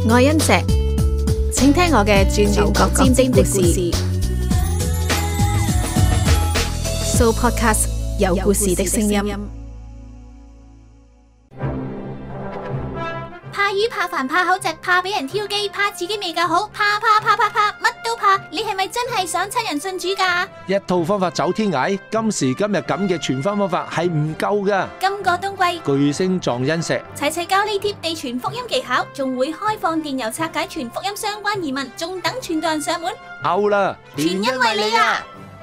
我係欣石，請聽我嘅轉牛角尖的故事。So Podcast 有故事的聲音。 怕魚怕煩怕口窒怕俾人挑機怕自己未夠好怕乜都怕，你係咪真係想親人信主㗎？ 一套方法走天涯，今時今日咁嘅傳福音方法係唔夠㗎。 今個冬季巨星撞恩石， 齊教你貼地傳福音技巧，仲會開放電郵拆解傳福音相關疑問，仲等傳道人上門。 out啦！ 全因為你啊！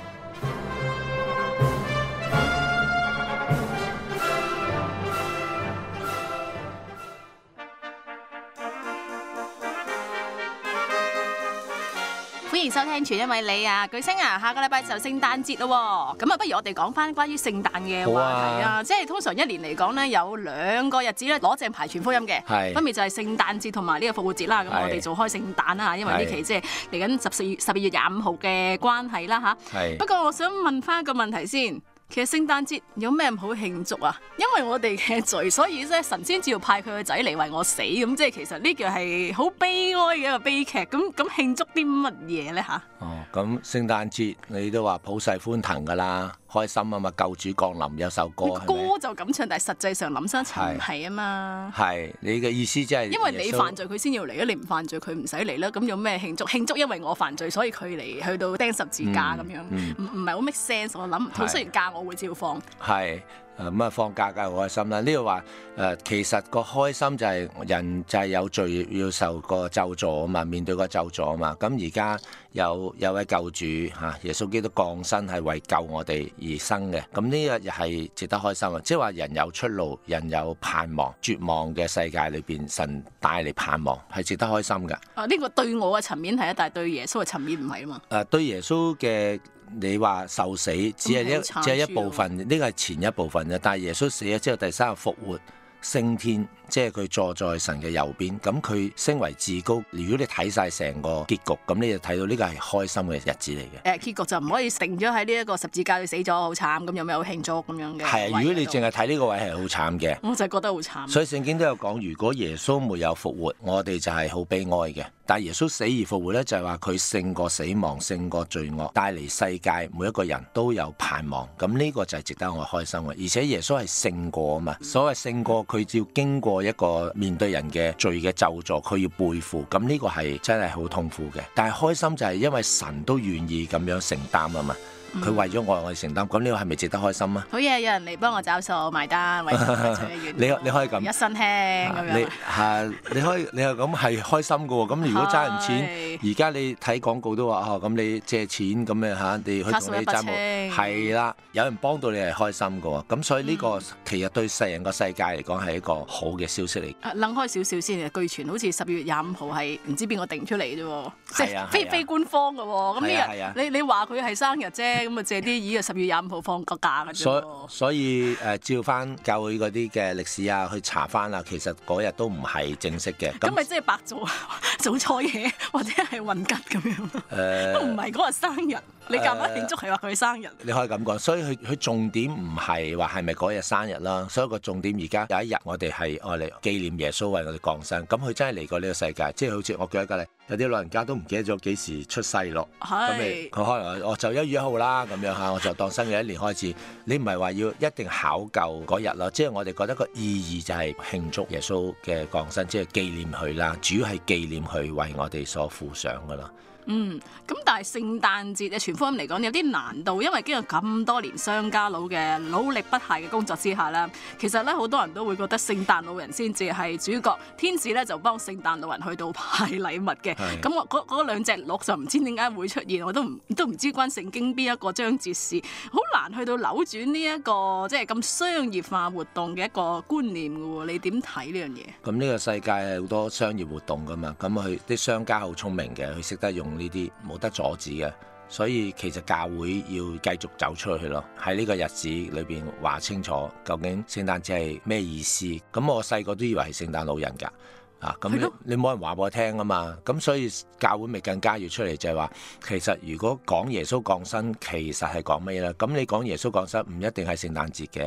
歡迎收聽全因為你啊，巨星啊，下個禮拜就聖誕節咯，咁啊，不如我哋講翻關於聖誕嘅話題啊，即係通常一年嚟講咧，有兩個日子咧攞正牌傳福音嘅，分別就係聖誕節同埋呢個復活節啦。咁我哋做開聖誕啦，因為呢期即係嚟緊12月25號嘅關係啦吓。不過我想問翻一個問題先。其實聖誕節有咩唔好慶祝啊？因為我哋嘅罪，所以咧神先至要派佢個仔嚟為我死，咁即係其實呢個係好悲哀嘅一個悲劇。咁慶祝啲乜嘢咧吓？ 咁聖誕節你都話普世歡騰噶啦，開心啊嘛，救主降臨有首歌， 歌就咁唱，但係實際上諗深一層唔係啊嘛。 係你嘅意思即係因為你犯罪佢先要嚟啊，你唔犯罪佢唔使嚟啦。咁有咩慶祝？慶祝因為我犯罪，所以佢嚟去到釘十字架咁樣，唔係好 make sense。我諗好，雖然假我會照放。係。咁啊，放假梗係好開心啦！呢度話其實個開心就係人就係有罪要受個咒詛啊嘛，面對個咒詛啊嘛。咁而家有位救主嚇，耶穌基督降生係為救我哋而生嘅。咁呢個又係值得開心啊！即係話人有出路，人有盼望，絕望嘅世界裏邊，神帶嚟盼望係值得開心㗎。呢個對我嘅層面係啊，但係對耶穌嘅層面唔係啊嘛。對耶穌嘅。你話受死只係一部分，呢個係前一部分嘅。但係耶穌死咗之後，第三日復活升天，即係佢坐在神嘅右邊。咁佢升為至高。如果你睇晒成個結局，咁你就睇到呢個係開心嘅日子嚟嘅。結局就唔可以定咗喺呢一個十字架佢死咗好慘，咁有冇慶祝咁樣嘅？係啊，如果你淨係睇呢個位係好慘嘅，我就覺得好慘。所以聖經都有講，如果耶穌沒有復活，我哋就係好悲哀嘅。但係耶穌死而復活咧，就係話佢勝過死亡，勝過罪惡，帶嚟世界每一個人都有盼望。咁呢個就係值得我開心嘅。而且耶穌係勝過啊嘛，所謂勝過佢要經過一個面對人嘅罪嘅咒詛，佢要背負。咁呢個係真係好痛苦嘅。但係開心就係因為神都願意咁樣承擔啊嘛。佢為咗我哋承擔，咁呢個係咪值得開心啊？好嘢，有人嚟幫我找數埋單，為你可以咁一身輕咁樣。你係咁係開心嘅喎。咁如果爭人錢，而家你睇廣告都話咁你借錢咁樣嚇，你去同你爭冇係啦，有人幫到你係開心嘅喎。咁所以呢個其實對世人個世界嚟講係一個好嘅消息嚟。諗開少少先，據傳好似12月25號係唔知邊個定出嚟啫喎，即係非官方嘅喎。咁呢日你話佢係生日啫。咁啊借啲意啊，10月25號放個假嘅啫。所以照翻教會嗰啲嘅歷史啊，去查翻啊，其實嗰日都唔係正式嘅。咁咪即係白做錯嘢，或者係混吉咁樣？都唔係嗰日生日，你夾硬慶祝係話佢生日。你可以咁講，所以佢重點唔係話係咪嗰日生日啦。所以個重點而家有一日我哋係愛嚟紀念耶穌為我哋降生。咁佢真係嚟過呢個世界，即係好似我舉一個例，有啲老人家都唔記得咗幾時出世咯。咁佢可能我就1月1號啦。咁樣嚇，我就當新嘅一年開始。你唔係話要一定考究嗰日咯，即係我哋覺得個意義就係慶祝耶穌嘅降生，即係紀念佢啦。主要係紀念佢為我哋所付上噶啦。咁但係聖誕節嘅傳福音嚟講有啲難度，因為經過咁多年商家佬嘅努力不懈嘅工作之下啦，其實咧好多人都會覺得聖誕老人先至係主角，天使咧就幫聖誕老人去到派禮物嘅。咁我嗰兩隻鹿就唔知點解會出現，我都唔知關聖經邊一個章節事，好難去到扭轉呢一個即係咁商業化活動嘅一個觀念嘅喎。你點睇呢樣嘢？咁呢個世界係好多商業活動噶嘛，咁佢啲商家好聰明嘅，佢識得用呢啲冇得阻止嘅，所以其實教會要繼續走出去咯。喺呢個日子裏邊話清楚究竟聖誕節係咩意思。咁我細個都以為係聖誕老人㗎。咁你冇人話我聽啊嘛，咁所以教會咪更加要出嚟就係話，其實如果講耶穌降生，其實係講咩咧？咁你講耶穌降生唔一定係聖誕節嘅，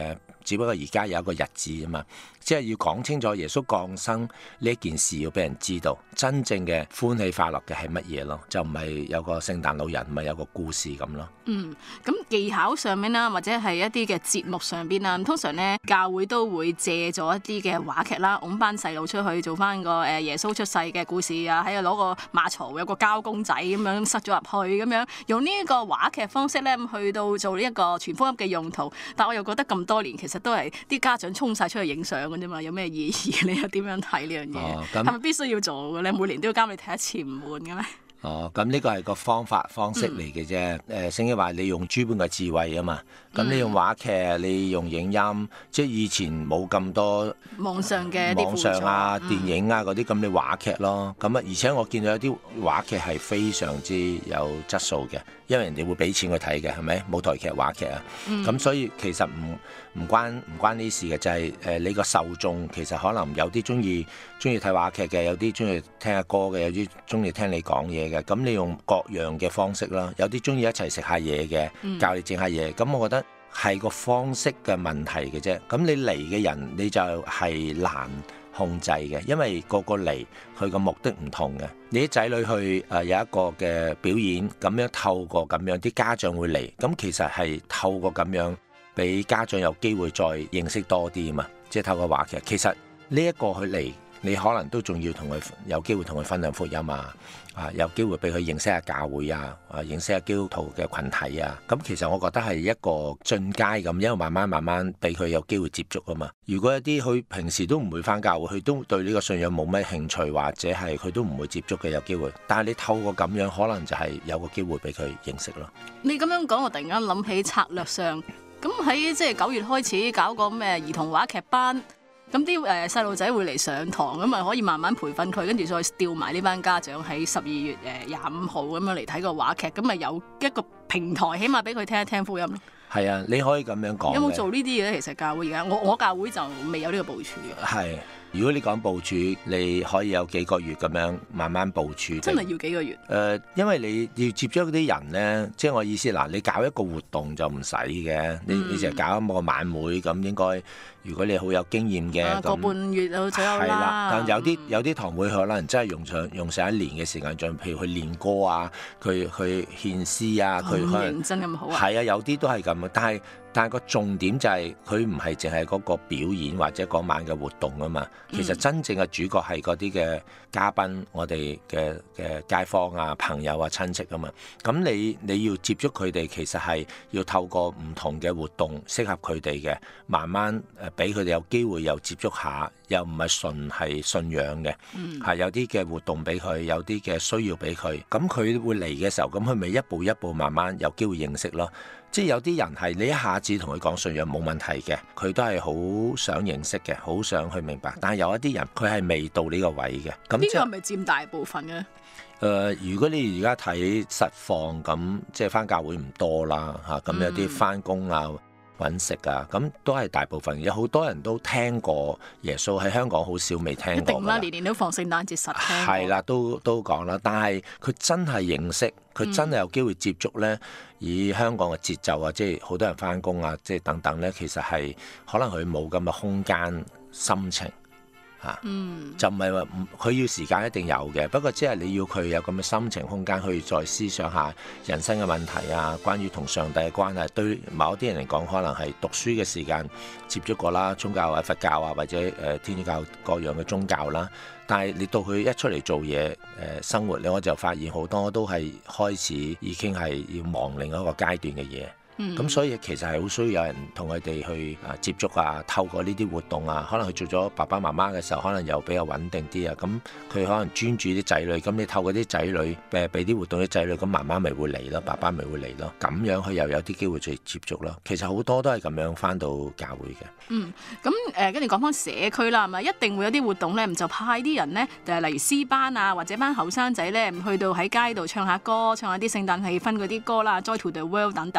只不過而家有一個日子啊嘛，即係要講清楚耶穌降生呢一件事，要俾人知道真正嘅歡喜快樂嘅係乜嘢咯，就唔係有個聖誕老人，唔係有個故事咁咯。 咁技巧上面啦，或者係一啲嘅節目上邊啊，通常咧教會都會借咗一啲嘅話劇啦，擁班細路出去做翻個耶穌出世嘅故事啊，喺度攞個馬槽有個膠公仔咁樣塞咗入去，咁樣用呢一個話劇方式咧去到做呢一個傳福音嘅用途。但我又覺得咁多年其實都係啲家長衝晒出去影相嘅啫嘛，有咩意義？你又點樣睇呢樣嘢？係咪必須要做嘅咧？每年都要監你睇一次唔悶嘅咩？ 咁呢個係個方式嚟嘅啫。聖經話你用諸般嘅智慧啊嘛，咁你用話劇，你用影音，即係以前冇咁多網上嘅啲輔助電影啊嗰啲，咁你話劇咯。咁啊，而且我見到有啲話劇係非常之有質素嘅，因為人哋會俾錢去睇嘅，係咪？舞台劇、話劇啊，咁所以其實唔關呢事嘅，就係你個受眾其實可能有啲中意睇話劇嘅，有啲中意聽下歌嘅，有啲中意聽你講嘢嘅。咁你用各樣嘅方式啦，有啲中意一齊食下嘢嘅，教你整下嘢。咁我覺得係個方式嘅問題嘅啫。咁你嚟嘅人你就係難控制嘅，因為個嚟佢個目的唔同嘅。你啲仔女去有一個嘅表演，咁樣透過咁樣啲家長會嚟，咁其實係透過咁樣俾家長有機會再認識多啲啊嘛。即係透過話劇，其實呢一個佢嚟，你可能都仲要同佢有機會同佢分享福音啊，有機會俾佢認識下教會啊，認識下基督徒嘅群體啊。咁其實我覺得係一個進階咁，因為慢慢俾佢有機會接觸啊嘛。如果一啲佢平時都唔會返教會，佢都對呢個信仰冇咩興趣，或者係佢都唔會接觸嘅，有機會。但係你透過咁樣，可能就係有個機會俾佢認識咯。 你咁樣講，我突然間諗起策略上，咁喺即係9月開始搞個咩兒童話劇班。咁啲細路仔會嚟上堂，咁咪可以慢慢培訓佢，跟住再調埋呢班家長喺12月25號咁樣嚟睇個話劇，咁咪有一個平台，起碼俾佢聽一聽福音咯。 係啊，你可以咁樣講。 有冇做呢啲嘢咧？其實教會而家我教會就未有呢個部署嘅。 係。如果你講部署，你可以有幾個月咁樣慢慢部署。 真係要幾個月？ 因為你要接觸嗰啲人咧，即係我意思嗱，你搞一個活動就唔使嘅，你就搞一個晚會咁，應該如果你好有經驗嘅， 個半月就左右啦。 係啦，但有啲堂會可能真係用上1年嘅時間，像譬如去練歌啊，佢去獻詩啊，佢可能認真咁好啊。 係啊，有啲都係咁啊，但係個重點就係佢唔係淨係嗰個表演或者嗰晚嘅活動啊嘛，其實真正嘅主角係嗰啲嘅嘉賓，我哋嘅街坊啊、朋友啊、親戚啊嘛。咁你要接觸佢哋，其實係要透過唔同嘅活動，適合佢哋嘅，慢慢俾佢哋有機會又接觸下，又唔係純係信仰嘅，係有啲嘅活動俾佢，有啲嘅需要俾佢。咁佢會嚟嘅時候，咁佢咪一步一步慢慢有機會認識咯。即係有啲人係你一下子同佢講信仰冇問題嘅，佢都係好想認識嘅，好想去明白。但係有一啲人佢係未到呢個位嘅。咁呢個係咪佔大部分嘅？ 如果你而家睇實況咁，即係返教會唔多啦嚇，咁有啲返工啊、揾食啊，咁都係大部分。有好多人都聽過耶穌，喺香港好少未聽過。一定啦， 年年都放聖誕節實聽。 係啦，都講啦。但係佢真係認識，佢真係有機會接觸咧。以香港嘅節奏啊，即係好多人返工啊，即係等等咧，其實係可能佢冇咁嘅空間、心情。就唔係話佢要時間一定有嘅，不過即係你要佢有咁嘅心情空間去再思想下人生嘅問題啊，關於同上帝嘅關係。對某啲人嚟講，可能係讀書嘅時間接觸過啦，宗教啊、佛教啊，或者天主教各樣嘅宗教啦。但係你到佢一出嚟做嘢生活咧，我就發現好多都係開始已經係要忙另一個階段嘅嘢。咁所以其實係好需要有人同佢哋去接觸啊，透過呢啲活動啊，可能佢做咗爸爸媽媽嘅時候，可能又比較穩定啲啊。咁佢可能專注啲仔女，咁你透過啲仔女俾啲活動啲仔女，咁媽媽咪會嚟咯，爸爸咪會嚟咯，咁樣佢又有啲機會去接觸咯。其實好多都係咁樣返到教會嘅。 咁跟住講返社區啦，係咪一定會有啲活動咧？就派啲人咧，就係例如詩班啊，或者班後生仔咧，去到喺街度唱下歌，唱下啲聖誕氣氛嗰啲歌啦，Joy to the World 等等咧。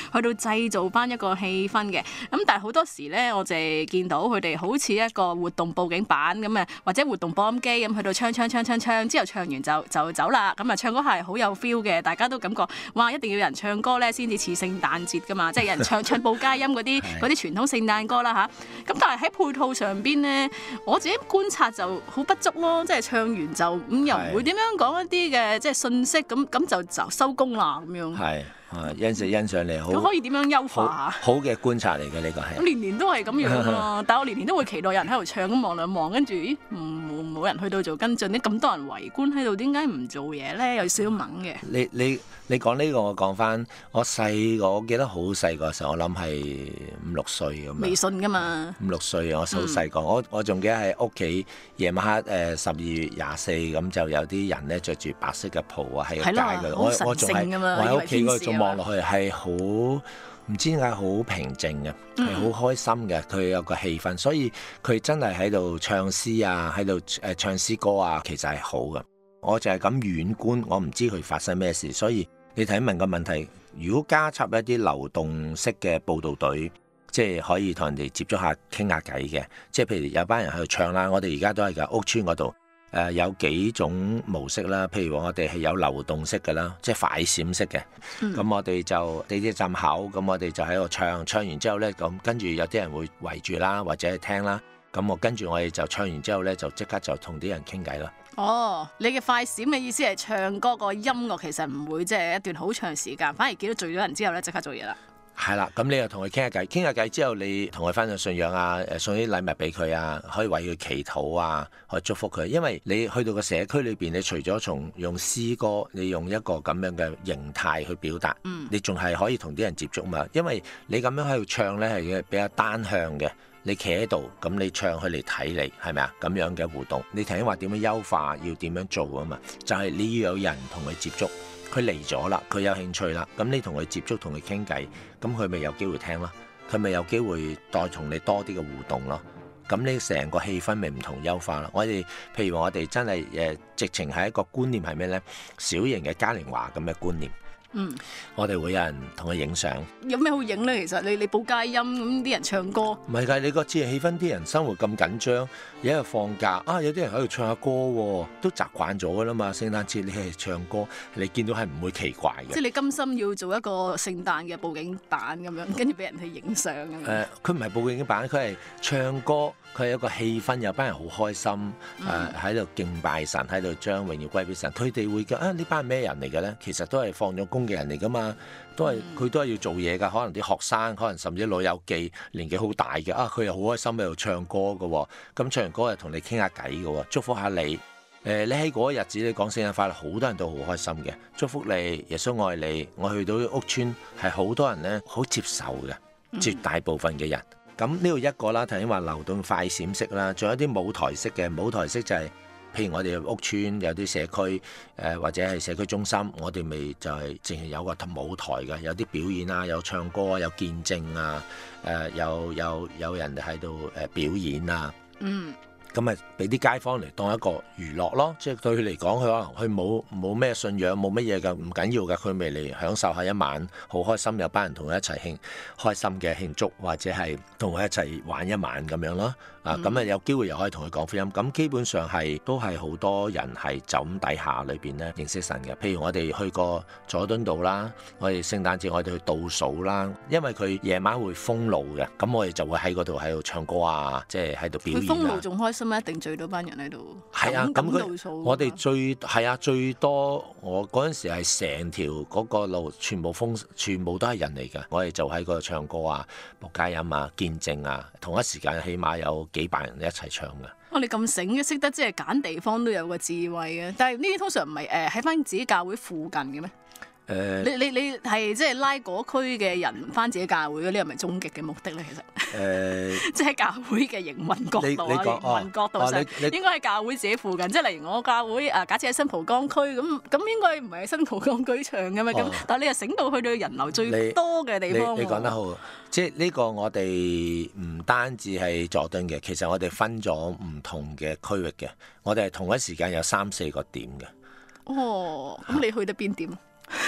去到製造翻一個氣氛嘅。咁但係好多時咧，我哋見到佢哋好似一個活動佈景板咁啊，或者活動播音機咁去到唱之後唱完就走啦。咁啊唱歌係好有 feel 嘅，大家都感覺哇，一定要有人唱歌咧先至似聖誕節噶嘛，即係有人唱報佳音嗰啲傳統聖誕歌啦嚇。咁但係喺配套上邊咧，我自己觀察就好不足咯，即係唱完就又唔會點樣講一啲嘅即係信息，咁就收工啦咁樣。 係。欣賞你好， 可以點樣優化下？ 好嘅觀察嚟嘅呢個係。 年年都係咁樣啊！但係我年年都會期待有人喺度唱，咁望兩望，跟住冇人去到做跟進，咁多人圍觀喺度，點解唔做嘢咧？有少少懵嘅。 你講呢個，我講翻我記得好細個時候，我諗係5-6歲咁啊。 微信㗎嘛。5-6 歲，我好細個，我仲記得喺屋企夜晚黑12月24咁就有啲人咧着住白色嘅袍啊喺個街嗰度，我仲係我喺屋企嗰度仲望落去係好唔知點解好平靜嘅，係好開心嘅，佢有個氣氛，所以佢真係喺度唱詩啊，喺度唱詩歌啊，其實係好嘅。我就係咁遠觀，我唔知佢發生咩事，所以你睇問個問題，如果加插一啲流動式嘅報導隊，即係可以同人哋接觸下傾下偈嘅，即係譬如有班人喺度唱啦，我哋而家都係㗎，屋村嗰度有幾種模式啦，譬如我哋係有流動式嘅啦，即係快閃式嘅，咁我哋就地鐵站口，咁我哋就喺度唱完之後呢，咁跟住有啲人會圍住啦，或者係聽啦，咁跟住我哋就唱完之後呢，就即刻就同啲人傾偈啦。 哦，你嘅快閃嘅意思係唱歌個音樂其實唔會即係一段好長時間，反而見到聚咗人之後咧，即刻做嘢啦。 係啦，咁你又同佢傾下偈之後，你同佢分享信仰啊，送啲禮物俾佢啊，可以為佢祈禱啊，可以祝福佢。因為你去到個社區裏邊，你除咗用詩歌，你用一個咁樣嘅形態去表達，你仲係可以同啲人接觸嘛。因為你咁樣喺度唱咧係比較單向嘅。你企喺度，咁你唱佢嚟睇你，係咪啊？咁樣嘅互動，你頭先話點樣優化，要點樣做啊嘛？就係你要有人同佢接觸，佢嚟咗啦，佢有興趣啦，咁你同佢接觸，同佢傾偈，咁佢咪有機會聽咯，佢咪有機會再同你多啲嘅互動咯。咁你成個氣氛咪唔同優化咯。我哋譬如我哋真係直情係一個觀念係咩呢？小型嘅嘉年華咁嘅觀念。我哋會有人同佢影相。有咩好影呢？其實你報佳音咁啲人唱歌，唔係㗎，你個節日氣氛，啲人生活咁緊張，有一日放假啊，有啲人喺度唱下歌喎，都習慣咗㗎啦嘛。聖誕節你係唱歌，你見到係唔會奇怪嘅。即係你甘心要做一個聖誕嘅佈景板咁樣，跟住俾人去影相咁樣。佢唔係佈景板，佢係唱歌，佢係一個氣氛，有班人好開心，喺度敬拜神，喺度將榮耀歸俾神。佢哋會講呢班係咩人嚟嘅咧？其實都係放咗工嘅人嚟噶嘛，佢都係要做嘢噶。可能啲學生，可能甚至老友記年紀好大嘅佢又好開心喺度唱歌嘅。咁唱完歌又同你傾下偈嘅，祝福下你。你喺嗰日子你講聖誕快樂，好多人都好開心嘅，祝福你，耶穌愛你。我去到屋村係好多人咧，好接受嘅，絕大部分嘅人。咁呢度一個啦，頭先話流動快閃式啦，仲有啲舞台式嘅。舞台式就係譬如我哋屋村有啲社區或者係社區中心，我哋咪就係淨係有個舞台嘅，有啲表演啊，有唱歌啊，有見證啊，有人喺度表演啊。咁咪俾啲街坊嚟當一個娛樂咯，即係對佢嚟講，佢可能佢冇咩信仰，冇乜嘢㗎，唔緊要㗎，佢咪嚟享受下一晚，好開心，有班人同佢一齊開心嘅慶祝，或者係同佢一齊玩一晚咁樣咯。咁有機會又可以同佢講福音。咁基本上都係好多人係就咁底下裏邊咧認識神嘅。譬如我哋去過佐敦道啦，我哋聖誕節我哋去倒數啦，因為佢夜晚會封路嘅，咁我哋就會喺嗰度喺度唱歌啊，即係喺度表演。佢封路仲開心咩？一定聚到班人喺度。係啊，咁我哋最多我嗰陣時係成條嗰個路全部都係人嚟㗎。我哋就喺嗰度唱歌啊、報佳音啊、見證啊，同一時間起碼有幾百人一齊唱㗎。你咁醒嘅，識得即係揀地方都有個智慧嘅。但係呢啲通常唔係喺翻自己教會附近嘅咩？你係即係拉嗰區嘅人翻自己教會嘅，呢係咪終極嘅目的咧？其實即係教會嘅營運角度營運角度上應該係教會自己附近。即係例如我教會假設喺新蒲崗區咁應該唔係喺新蒲崗區唱嘅咩？咁但係你又醒到去到人流最多嘅地方。你講得好，即係呢個我哋唔單止係佐敦嘅，其實我哋分咗唔同嘅區域嘅，我哋係同一時間有3-4個點嘅。咁你去得邊點？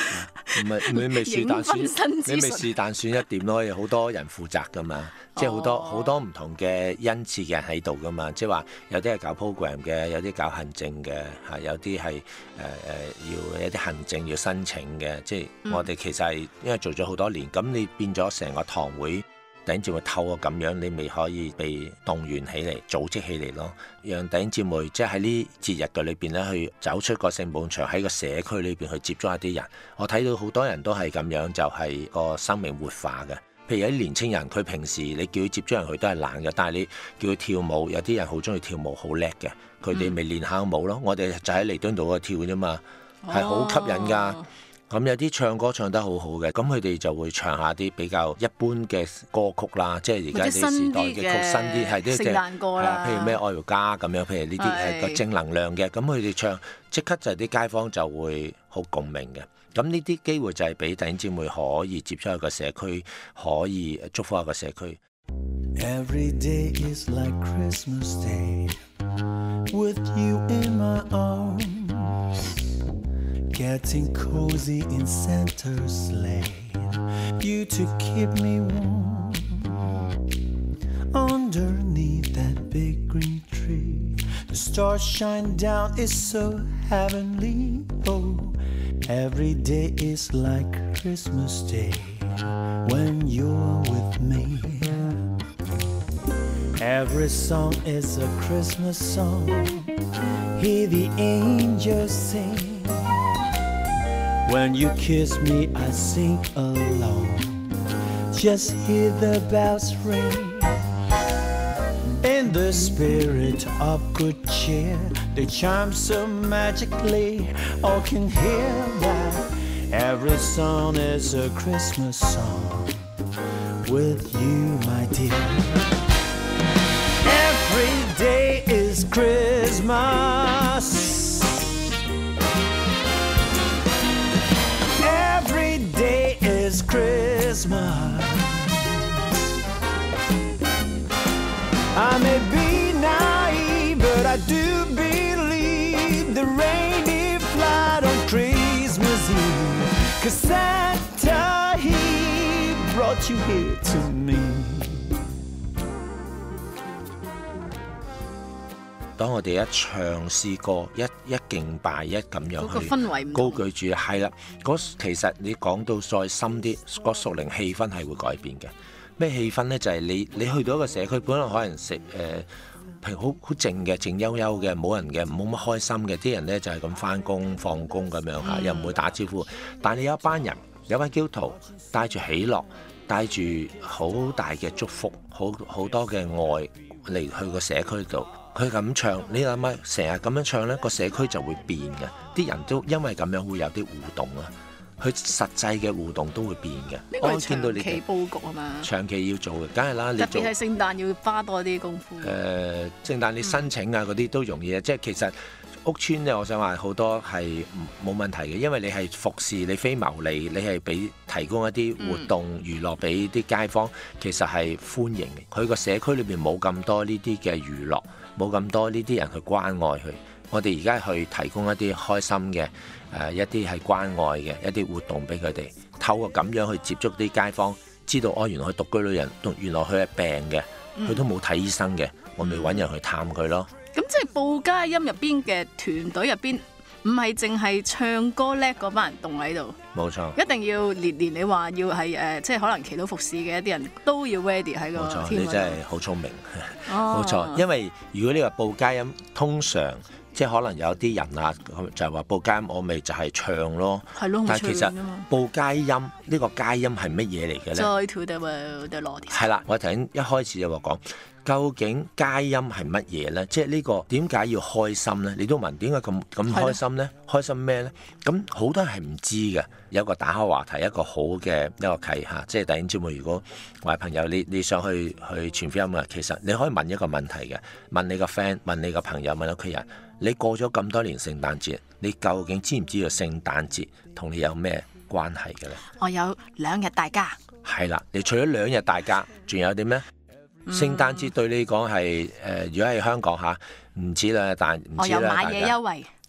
唔係你咪是但選，你咪是但選一點咯，有好多人負責噶嘛，即係好多唔同嘅恩賜嘅人喺度噶嘛，即係話有啲係搞 program 嘅，有啲搞行政嘅嚇，有啲係要一啲行政要申請嘅，即係我哋其實係因為做咗好多年，咁你變咗成個堂會。弟兄姊妹透過咁樣，你咪可以被動員起嚟、組織起嚟咯。讓弟兄姊妹即係喺呢節日嘅裏邊咧，去走出個聖寶場，喺個社區裏邊去接觸一啲人。我睇到好多人都係咁樣，就係個生命活化嘅。譬如有啲年青人，佢平時你叫佢接觸人，佢都係懶嘅。但係你叫佢跳舞，有啲人好中意跳舞，好叻嘅，佢哋咪練下舞咯。我哋就喺彌敦道嗰度跳啫嘛，係好吸引㗎。咁有啲唱歌唱得好好嘅，咁佢哋就會唱下啲比較一般嘅歌曲啦，即係而家啲時代嘅曲，新啲係啲聖誕歌啦， 譬如咩愛回家咁樣，譬如呢啲係個正能量嘅，咁佢哋唱即刻就啲街坊就會好共鳴嘅。咁呢啲機會就係俾弟兄姊妹可以接觸一個社區，可以祝福一個社區。 Every day is like Christmas Day with you in my arms.Getting cozy in Santa's sleigh, you to keep me warm. Underneath that big green tree, the stars shine down, it's so heavenly. Oh, every day is like Christmas Day when you're with me. Every song is a Christmas song, hear the angels sing.When you kiss me, I sing along. Just hear the bells ring. In the spirit of good cheer, they chime so magically. All can hear that. Every song is a Christmas song with you, my dear. Every day is Christmas.Every day is Christmas. I may be naive, but I do believe the reindeer flight on Christmas Eve. 'Cause Santa, he brought you here to me. 當我哋一唱詩歌，一敬拜，一咁樣去氛圍高舉住，係啦。其實你講到再深啲，個屬靈氣氛係會改變嘅。咩氣氛呢？就係你去到一個社區，本來可能譬如好靜嘅、靜悠悠嘅，冇人嘅，冇乜開心嘅，啲人呢就係咁返工放工咁樣嚇，又唔會打招呼。但係你有一班人，有班基督徒帶住喜樂，帶住好大嘅祝福，好多嘅愛嚟去個社區度。佢咁唱，你諗下，成日咁樣唱呢個社區就會變嘅，啲人都因為咁樣會有啲互動啊，佢實際嘅互動都會變嘅。 呢個係長期佈局啊嘛， 長期要做嘅，梗係啦。 特別係聖誕要花多啲功夫。 聖誕你申請啊嗰啲都容易啊，即係其實屋邨咧，我想話好多係冇問題嘅，因為你係服侍，你非牟利，你係提供一啲活動娛樂俾啲街坊，其實係歡迎嘅。佢個社區裏邊冇咁多呢啲嘅娛樂。冇咁多呢啲人去關愛佢，我哋而家去提供一啲開心嘅一啲係關愛嘅一啲活動俾佢哋，透過咁樣去接觸啲街坊，知道原來佢獨居老人，原來佢係病嘅，佢都冇睇醫生嘅，我咪揾人去探佢咯。 咁即係報佳音入邊嘅團隊入邊，唔係淨係唱歌叻嗰班人動喺度， 冇錯， 一定要連你話要係即係可能祈禱服侍嘅一啲人都要 ready 喺個 team 嗰度。 你真係好聰明，冇錯。因為如果你話報佳音，通常即係可能有啲人啊，就係話報佳音，我咪就係唱咯。 係咯， 但係其實報佳音呢個佳音係乜嘢嚟嘅咧 ？Joy to the world, the Lord is come。 係啦，我頭先一開始就話講。究竟佳音係乜嘢呢？即係呢個點解要開心呢？你都問點解咁開心呢？開心咩呢？咁好多人係唔知嘅。有個打開話題，一個好嘅一個契嚇，即係弟兄姊妹，如果我係朋友，你想去傳福音啊，其實你可以問一個問題嘅，問你個 friend，問你個朋友，問屋企人，你過咗咁多年聖誕節，你究竟知唔知道聖誕節同你有咩關係嘅呢？ 我有2日大假。 係啦，你除咗2日大假，仲有啲咩？聖誕節對你講係如果係香港嚇，唔止啦，但唔止啦。 我有買嘢優惠。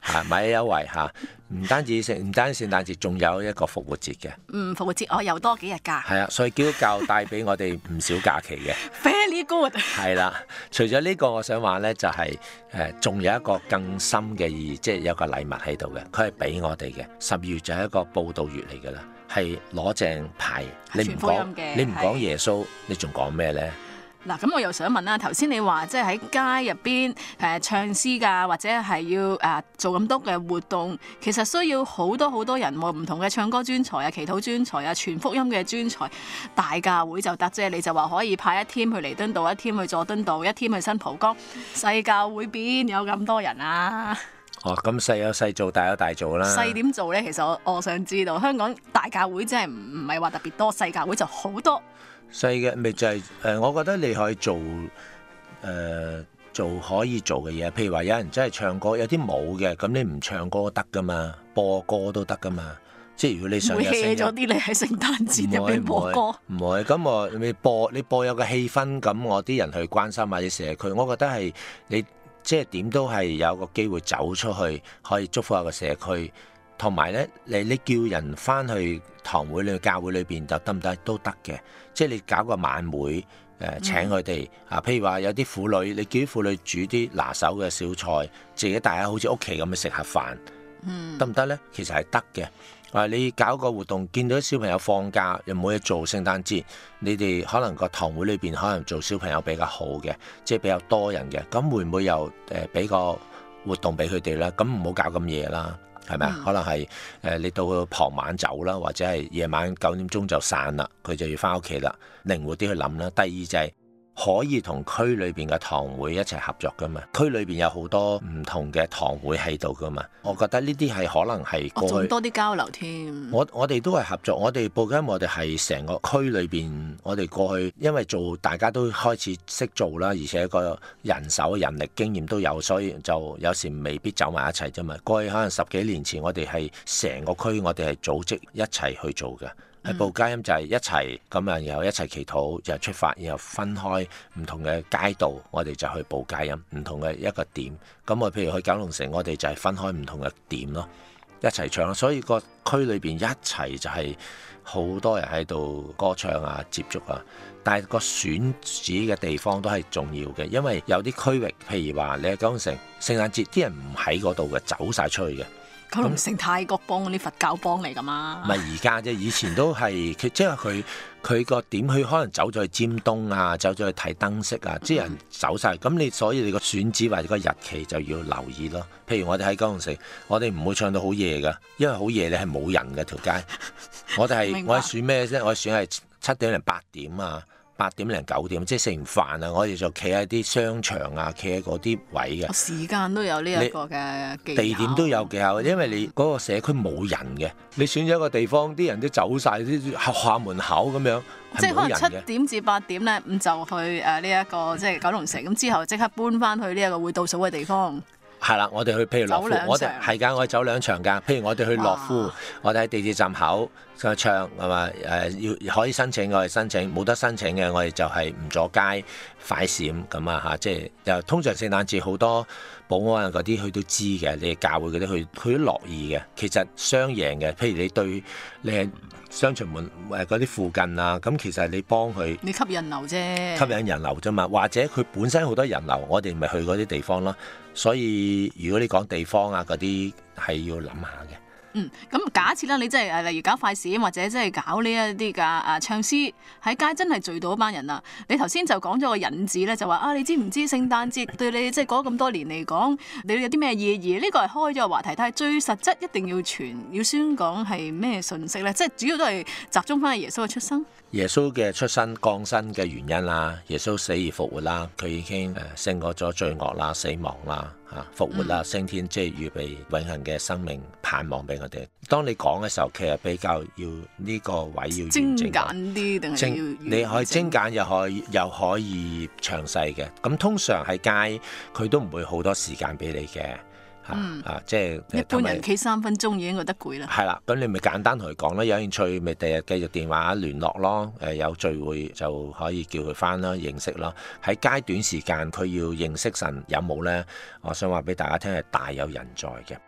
嚇買優惠嚇，唔單止聖誕節，仲有一個復活節嘅。 復活節我又多幾日假。 係啊，所以基督教帶俾我哋唔少假期嘅。 Very good。 係啦，除咗呢個，我想話咧就係仲有一個更深嘅意義，即係有個禮物喺度嘅，佢係俾我哋嘅。12月就係一個報道月嚟㗎啦，係攞正牌。你唔講耶穌，你仲講咩咧？ 嗱，咁我又想問啦，頭先你話即係喺街入邊唱詩㗎，或者係要做咁多嘅活動，其實需要好多人喎，唔同嘅唱歌專才啊、祈禱專才啊、傳福音嘅專才，大教會就得啫。你就話可以派一 team 去彌敦道，一 team 去佐敦道，一 team 去新蒲崗，細教會邊有咁多人啊？ 哦，咁細有細做，大有大做啦。 細點做咧？其實我想知道，香港大教會真係唔係話特別多，細教會就好多。 細嘅咪就係我覺得你可以做可以做嘅嘢，譬如話有人真係唱歌，有啲冇嘅，咁你唔唱歌得噶嘛，播歌都得噶嘛。即係如果你想有聲音， 會 hea 咗啲你喺聖誕節入邊播歌， 唔會。咁你播有個氣氛，咁我啲人去關心或者社區，我覺得係你即係點都係有個機會走出去，可以祝福下個社區。同埋咧，你叫人翻去堂會裏、教會裏邊就得唔得？都得嘅。即係你搞個晚會，請佢哋譬如話有啲婦女，你叫啲婦女煮啲拿手嘅小菜，自己大家好似屋企咁去食下飯，得唔得咧？其實係得嘅。你搞個活動，見到啲小朋友放假又冇嘢做，聖誕節你哋可能個堂會裏邊可能做小朋友比較好嘅，即係比較多人嘅，咁會唔會又俾個活動俾佢哋咧？咁唔好搞咁夜啦。係咪啊？可能係你到傍晚走啦，或者係夜晚9點鐘就散啦，佢就要翻屋企啦。靈活啲去諗啦。第二就係可以同區裏邊嘅堂會一齊合作噶嘛。區裏邊有好多唔同嘅堂會喺度噶嘛。我覺得呢啲係可能係過去仲多啲交流添。 我哋都係合作，我哋報緊，我哋係成個區裏邊，我哋過去因為大家都開始識做啦，而且個人手人力經驗都有，所以就有時未必走埋一齊啫嘛。過去可能10幾年前，我哋係成個區，我哋係組織一齊去做嘅。係報佳音就係一齊咁啊，然後一齊祈禱，就出發，然後分開唔同嘅街道，我哋就去報佳音，唔同嘅一個點。咁我譬如去九龍城，我哋就係分開唔同嘅點咯，一齊唱。所以個區裏邊一齊就係好多人喺度歌唱啊、接觸啊。但係個選址嘅地方都係重要嘅，因為有啲區域，譬如話你喺九龍城聖誕節，啲人唔喺嗰度嘅，走晒出去嘅。 九龍城泰國幫嗰啲佛教幫嚟㗎嘛？ 唔係而家啫，以前都係即係佢個點，佢可能走咗去尖東啊，走咗去睇燈飾啊，啲人走晒。咁所以你個選址或者個日期就要留意咯。譬如我哋喺九龍城，我哋唔會唱到好夜㗎，因為好夜你係冇人嘅條街。我係選咩啫？我係選係7點零8點啊。8點零9點，即係食完飯啊，我哋就企喺啲商場啊，企喺嗰啲位嘅。 時間都有呢一個嘅技巧， 地點都有技巧，因為你嗰個社區冇人嘅，你選咗一個地方，啲人都走晒，啲學校門口咁樣， 即係可能7點至8點咧，咁就去呢一個即係九龍城，咁之後即刻搬翻去呢一個會倒數嘅地方。係啦，我哋去譬如樂富，我哋係㗎，我哋走2場㗎。譬如我哋去樂富，我哋喺地鐵站口唱係嘛？要可以申請，我哋申請；冇得申請嘅，我哋就係唔阻街快閃咁啊嚇！即係又通常聖誕節好多保安啊嗰啲，佢都知嘅。你教會嗰啲，佢都樂意嘅。其實雙贏嘅。譬如你係商場門嗰啲附近啊，咁其實你幫佢， 你吸引人流啫， 吸引人流啫嘛。或者佢本身好多人流，我哋咪去嗰啲地方咯。所以如果你講地方啊嗰啲係要諗下嘅。 咁假設啦，你真係例如搞快閃或者真係搞呢一啲㗎唱詩喺街，真係聚到一班人啦。你頭先就講咗個引子咧，就話你知唔知聖誕節對你即係過咗咁多年嚟講，你有啲咩意義？呢個係開咗個話題，但係最實質一定要傳要宣講係咩信息咧？即係主要都係集中翻喺耶穌嘅出生。 耶穌嘅出生降生嘅原因啦，耶穌死而復活啦，佢已經勝過咗罪惡啦、死亡啦、復活啦、升天，即係預備永恆嘅生命盼望俾我哋。當你講嘅時候，其實比較要呢個位要精簡啲，定係要你可以精簡又可以詳細嘅。咁通常喺街佢都唔會好多時間俾你嘅。即係一般人企3分鐘已經覺得攰啦。係啦，咁你咪簡單同佢講啦，有興趣咪第日繼續電話聯絡咯。有聚會就可以叫佢翻啦，認識咯。喺街短時間佢要認識神有冇呢？我想話俾大家聽係大有人在嘅。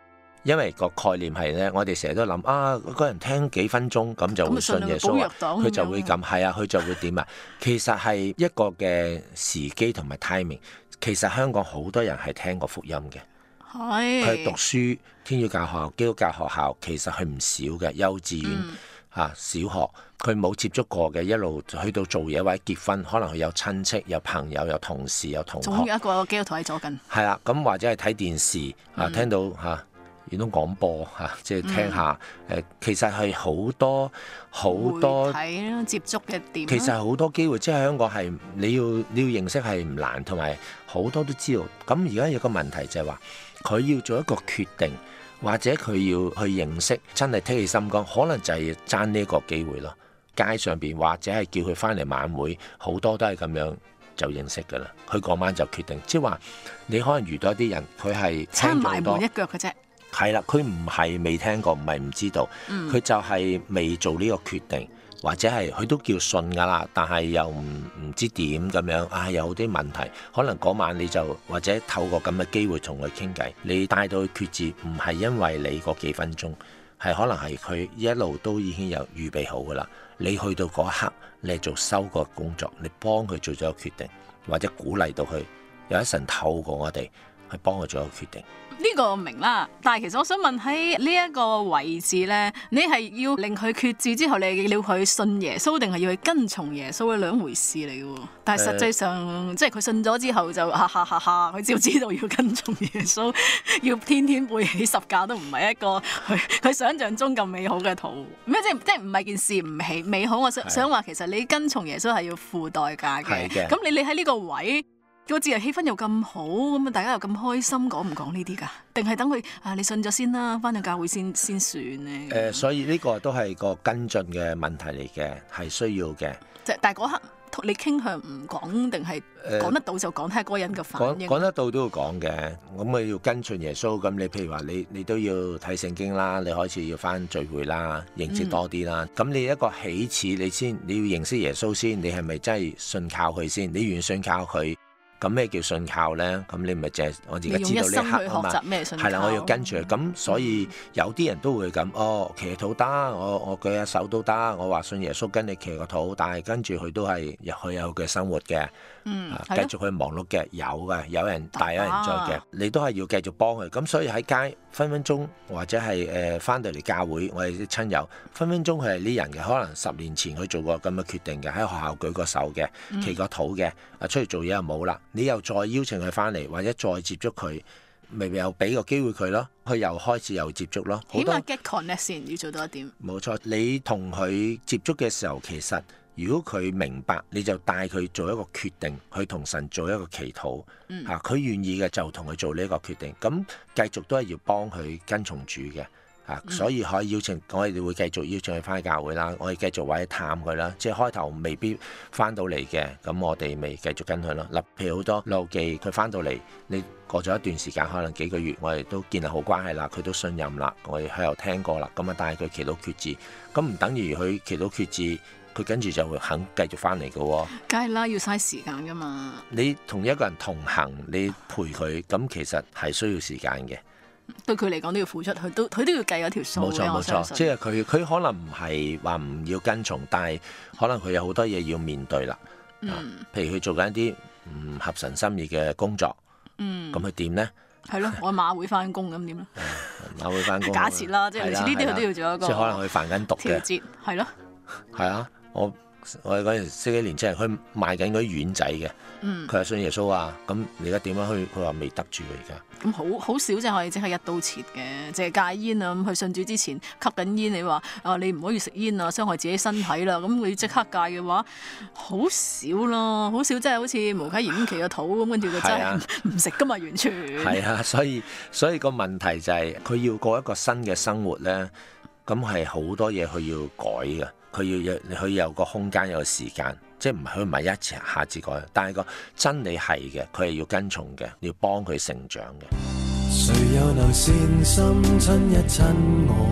因為個概念係咧，我哋成日都諗啊，嗰個人聽幾分鐘咁就會信耶穌，佢就會咁，係啊，佢就會點啊？其實係一個嘅時機同埋 timing。其實香港好多人係聽過福音嘅，佢讀書天主教學校、基督教學校，其實係唔少嘅幼稚園小學，佢冇接觸過嘅，一路去到做嘢或者結婚，可能佢有親戚、有朋友、有同事、有同學， 總有一個基督徒喺左近。 係啦，咁或者係睇電視聽到遠東廣播即係聽下其實係好多媒體接觸嘅點。 其實好多機會，即係香港係你要認識係唔難，同埋好多都知道。咁而家有個問題就係話，佢要做一個決定，或者佢要去認識，真係剔起心肝，可能就係爭呢個機會咯。街上邊或者係叫佢翻嚟晚會，好多都係咁樣就認識㗎啦。佢嗰晚就決定，即係話你可能遇到一啲人，佢係差埋門一腳嘅啫。 係啦，佢唔係未聽過，唔係唔知道，佢就係未做呢個決定，或者係佢都叫信㗎啦，但係又唔知點咁樣，有啲問題，可能嗰晚你就或者透過咁嘅機會同佢傾偈，你帶到佢決志，唔係因為你嗰幾分鐘，係可能係佢一路都已經有預備好㗎啦，你去到嗰一刻，你係做收割工作，你幫佢做咗個決定，或者鼓勵到佢，有一神透過我哋去幫佢做一個決定。 呢個我明啦，但係其實我想問喺呢一個位置咧，你係要令佢決志之後，你要佢信耶穌，定係要去跟從耶穌，係兩回事嚟嘅喎。但係實際上，即係佢信咗之後就佢只要知道要跟從耶穌，要天天背起十架都唔係一個佢想象中咁美好嘅圖。咩即係唔係件事唔美好？我想話其實你跟從耶穌係要付代價嘅。咁你喺呢個位。個節日氣氛又咁好，咁啊大家又咁開心，講唔講呢啲㗎？定係等佢你信咗先啦，返到教會先算咧？ 所以呢個都係個跟進嘅問題嚟嘅，係需要嘅。 但係嗰刻你傾向唔講，定係講得到就講，睇下嗰個人嘅反應。 講得到都要講嘅，咁你要跟進耶穌。咁你譬如話你都要睇聖經啦，你開始要返聚會啦，認識多啲啦。咁你一個起始，你要認識耶穌先，你係咪真係信靠佢先？你願信靠佢？咁咩叫信靠呢？咁你咪淨係我而家知道呢一刻啊嘛，係啦，我要跟住佢。咁所以有啲人都會咁，祈禱得，我舉下手都得，我話信耶穌跟你祈個禱，但係跟住佢都係佢有嘅生活嘅，繼續去忙碌嘅，有人大有人在嘅，你都係要繼續幫佢。咁所以喺街分分鐘或者係翻到嚟教會，我哋啲親友分分鐘佢係呢人嘅，可能10年前佢做過咁嘅決定嘅，喺學校舉過手嘅，祈個禱嘅，出去做嘢又冇啦。你又再邀請佢翻嚟，或者再接觸佢，咪又俾個機會佢咯，佢又開始又接觸咯。 起碼 get connect 先要做到一點。 冇錯，你同佢接觸嘅時候，其實如果佢明白，你就帶佢做一個決定，去同神做一個祈禱。佢願意嘅就同佢做呢個決定。咁繼續都係要幫佢跟從主嘅。所以可以邀請，我哋會繼續邀請佢翻去教會啦。我哋繼續或者探佢啦。即係開頭未必翻到嚟嘅，咁我哋咪繼續跟佢咯。譬如好多老記，佢翻到嚟，你過咗一段時間，可能幾個月，我哋都建立好關係啦，佢都信任啦，我哋喺度聽過啦，咁啊帶佢祈禱決志，咁唔等於佢祈禱決志，佢跟住就會肯繼續翻嚟嘅喎。 梗係啦，要嘥時間噶嘛。 你同一個人同行，你陪佢，咁其實係需要時間嘅。 對佢嚟講都要付出，佢都要計嗰條數。 冇錯，即係佢可能唔係話唔要跟從，但係可能佢有好多嘢要面對啦。譬如佢做緊一啲唔合神心意嘅工作，咁佢點呢？係咯，我馬會翻工咁點咧？ 馬會翻工， 假設啦，即係類似呢啲佢都要做一個。 即係可能佢犯緊毒嘅。調節係咯。係啊，我哋嗰陣識幾年青人，佢賣緊嗰啲丸仔嘅，佢係信耶穌啊。咁你而家點樣去？佢話未得住而家。 咁好少就係即係一刀切嘅，淨係戒煙啊。咁佢信主之前吸緊煙，你話你唔可以食煙啊，傷害自己身體啦。咁佢即刻戒嘅話，好少咯，好少，即係好似無稽延期個肚咁，跟住佢真係唔食噶嘛，完全。係啊，所以個問題就係佢要過一個新嘅生活咧，咁係好多嘢佢要改嘅。佢有個空間，有個時間，即係佢唔係一下子改，但係個真理係嘅，佢係要跟從嘅，要幫佢成長嘅。 誰又能善心親一親我，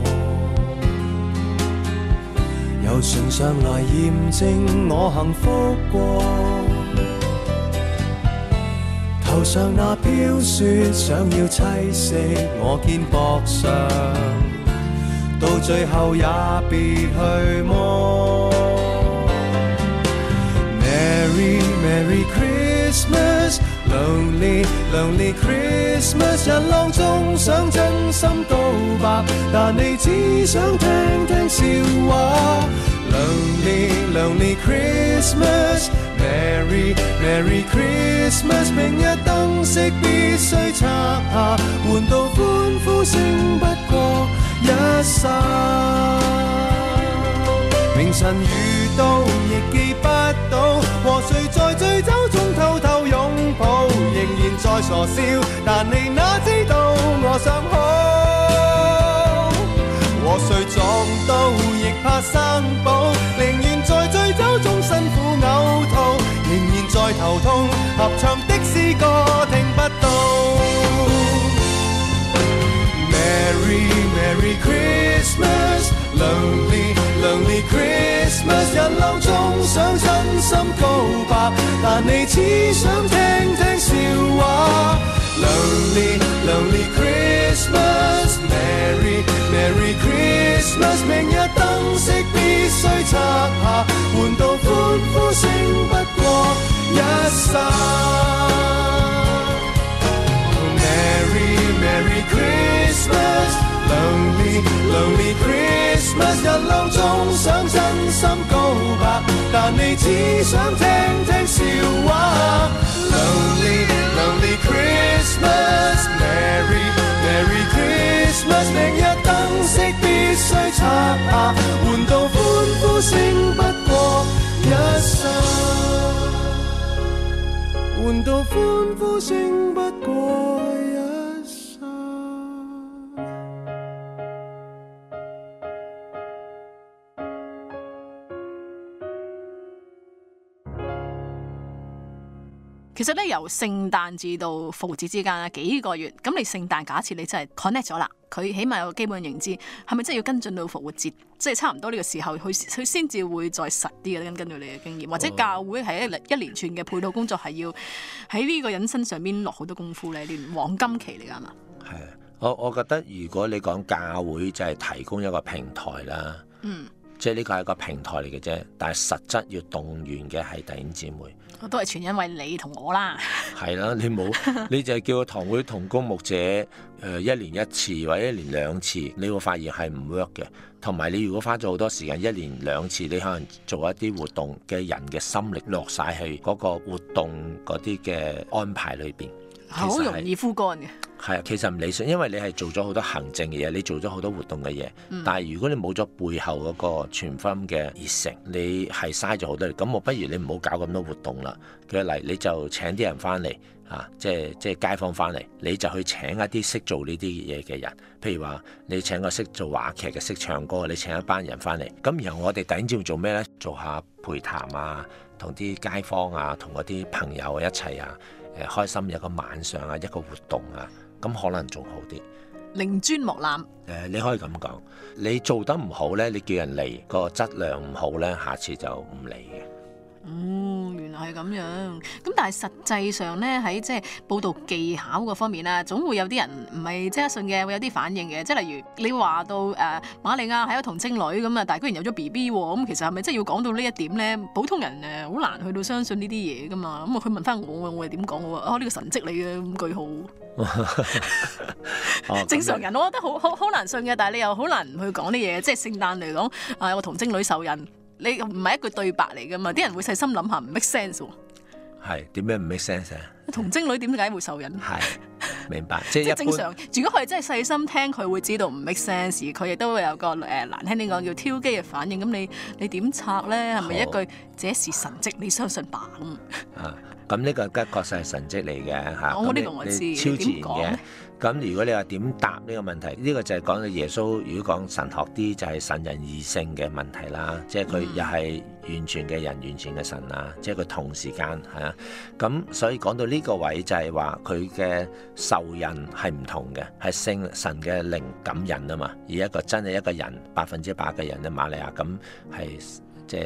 由唇上來驗證我幸福過， 頭上那飄雪想要棲息我肩膊上，到最後也別去摸。Merry Merry Christmas Lonely Lonely Christmas 人浪中想真心告白，但你只想聽聽笑話。Lonely Lonely Christmas Merry Merry Christmas 明日燈飾必須拆下，換到歡呼聲不過一剎。明晨遇到亦記不到，和誰在醉酒中偷偷擁抱，仍然在傻笑，但你哪知道我想好。和誰撞到亦怕生保，寧願在醉酒中辛苦嘔吐，仍然在頭痛，合唱的詩歌聽不到。Merry Merry Christmas Lonely Lonely Christmas 人浪中想真心告白，但你只想聽聽笑話。Lonely Lonely Christmas Merry Merry Christmas 明日燈飾必須拆下，換到歡呼聲不過一剎。Merry Merry Christmas Lonely Lonely Christmas 人浪中想真心告白，但你只想聽聽笑話。Lonely Lonely Christmas Merry Merry Christmas 明日燈飾必須拆下，換到歡呼聲不過一剎，換到歡呼聲不過一剎。 其實咧，由聖誕至到復活節之間幾個月，咁你聖誕假設你真係 connect 咗啦，佢起碼有個基本認知，係咪真係要跟進到復活節？即係差唔多呢個時候，佢先至會再實啲嘅，根據你嘅經驗，或者教會係一連串嘅配套工作，係要喺呢個人身上邊落好多功夫咧，連黃金期嚟㗎嘛。 係啊，我覺得如果你講教會就係提供一個平台啦，即係呢個係一個平台嚟嘅啫，但係實質要動員嘅係弟兄姊妹。 都係全因為你同我啦。 係啦，你就係叫個堂會同工牧者一年一次或者一年兩次，你會發現係唔 work 嘅。同埋你如果花咗好多時間，一年兩次，你可能做一啲活動嘅人嘅心力落晒去嗰個活動嗰啲嘅安排裏邊， 好容易枯乾嘅。 係啊，其實唔理想，因為你係做咗好多行政嘅嘢，你做咗好多活動嘅嘢，但係如果你冇咗背後嗰個全福音嘅熱誠，你係嘥咗好多。咁我不如你唔好搞咁多活動啦。舉例，你就請啲人翻嚟啊，即係街坊翻嚟，你就去請一啲識做呢啲嘢嘅人。譬如話，你請個識做話劇嘅、識唱歌，你請一班人翻嚟。咁然後我哋弟兄做咩呢？做下陪談啊，同啲街坊啊，同嗰啲朋友一齊啊，開心一個晚上啊，一個活動啊。咁可能仲好啲， 寧尊莫濫。 你可以咁講，你做得唔好呢，你叫人嚟個質量唔好呢，下次就唔嚟嘅。 原來係咁樣。咁但係實際上呢，喺即係報道技巧嗰方面啦，總會有啲人唔係即刻信嘅，會有啲反應嘅。即係例如你話到瑪利亞係一個童貞女咁啊，但係居然有咗 BB 喎，咁其實係咪真係要講到呢一點呢？普通人好難去到相信呢啲嘢噶嘛。咁佢問翻我係點講？我話呢個神蹟嚟嘅，咁句號。正常人我覺得好難信嘅，但係你又好難唔去講啲嘢。即係聖誕嚟講，有個童貞女受孕。你唔係一句對白嚟噶嘛？啲人會細心諗下，唔 make sense 喎。 係點樣唔 make sense 啊？ 童貞女點解會受孕？ 係明白，即係正常。如果佢真係細心聽，佢會知道唔 make sense。佢亦都會有個難聽啲講叫挑機嘅反應。咁你點拆咧？係咪一句這是神蹟？你相信吧咁。 咁呢個確實係神蹟嚟嘅嚇。 我呢個我知， 超自然嘅。咁如果你話點答呢個問題？呢個就係講到耶穌。如果講神學啲，就係神人二性嘅問題啦。即係佢又係完全嘅人，完全嘅神啊！即係佢同時間係啊。咁所以講到呢個位就係話佢嘅受孕係唔同嘅，係神嘅靈感孕啊嘛。而一個真係一個人100%嘅人咧，瑪利亞咁係即係